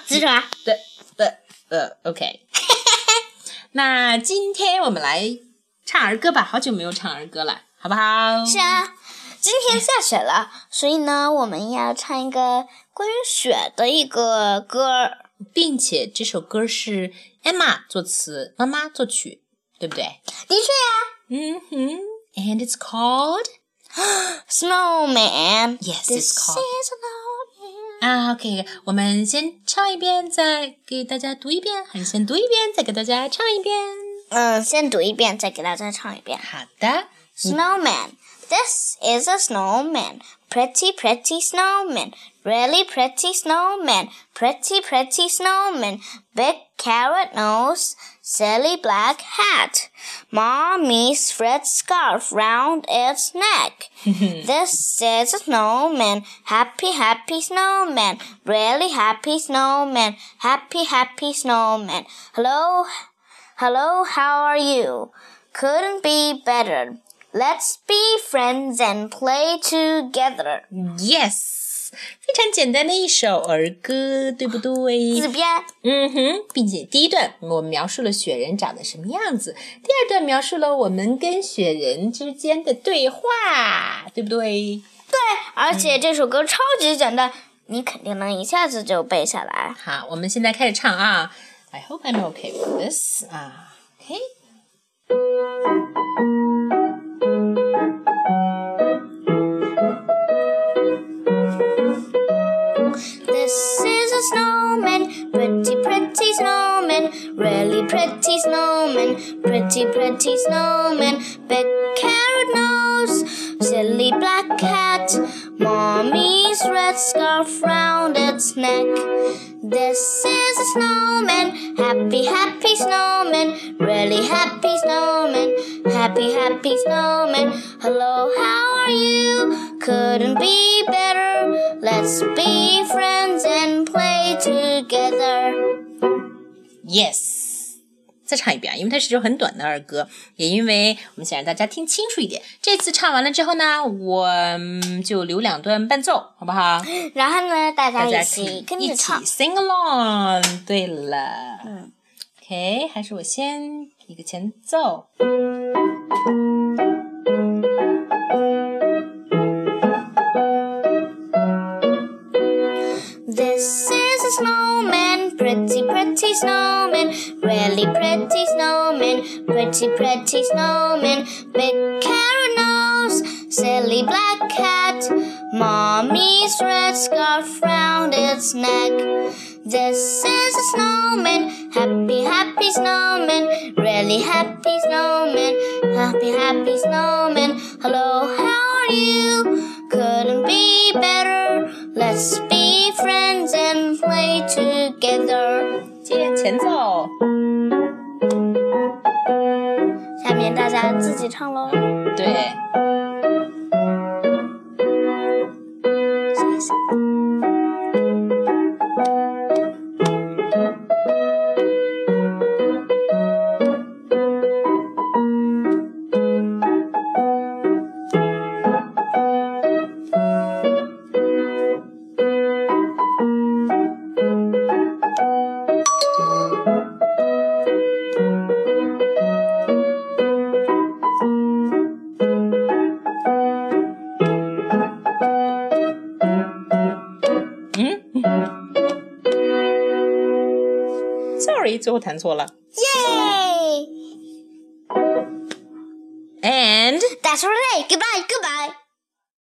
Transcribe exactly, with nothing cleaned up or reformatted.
是什么？ 对对呃 OK 那今天我们来唱儿歌吧，好久没有唱儿歌了，好不好？ 是啊，今天下雪了，所以呢，我们要唱一个关于雪的一个歌， 并且这首歌是 Emma 作词，妈妈作曲，对不对？ 的确啊。 嗯哼 And it's called Snowman. Yes, This it's called. is snowman. 啊 OK 我们先唱一遍再给大家读一遍，还是先读一遍再给大家唱一遍？ 嗯，先读一遍再给大家唱一遍。 好的。 Snowman. This is a snowman. Pretty, pretty snowman. Really pretty snowman. Pretty, pretty snowman. Big carrot nose. Silly black hat. Mommy's red scarf round its neck. This is a snowman. Happy, happy snowman. Really happy snowman. Happy, happy snowman. Hello, hello, how are you? Couldn't be better. Let's be friends and play together. Yes 非常简单的一首儿歌，对不对？ 字边。 嗯哼，并且第一段我们描述了雪人长得什么样子，第二段描述了我们跟雪人之间的对话，对不对？ 对，而且这首歌超级简单，你肯定能一下子就背下来。 好，我们现在开始唱啊 I hope I'm okay with this 啊 OK This is a snowman, pretty, pretty snowman, really pretty snowman, pretty, pretty snowman, big carrot nose, silly black hat, mommy's red scarf round its neck. This is a snowman, happy, happy snowman, really happy snowman, happy, happy snowman. Hello, how are you? Couldn't be better. Let's be friends and play together. Yes 再唱一遍，因为它是首很短的儿歌，也因为我们想让大家听清楚一点。这次唱完了之后呢，我就留两段伴奏，好不好？ 然后呢，大家大家一起跟着唱， 一起 sing along。对了， 嗯 ，OK， 还是我先一个前奏。 This is a snowman, pretty, pretty snowman, really pretty snowman, pretty, pretty snowman, big carrot nose, silly black hat, mommy's red scarf round its neck. This is a snowman, happy, happy snowman, really happy snowman, happy, happy snowman. Hello, how are you? Couldn't be better. Let's be friends and play together. 接前奏。 下面大家自己唱喽。 对。Sorry， 最后弹错了。 Yay! And That's all right. Goodbye, goodbye.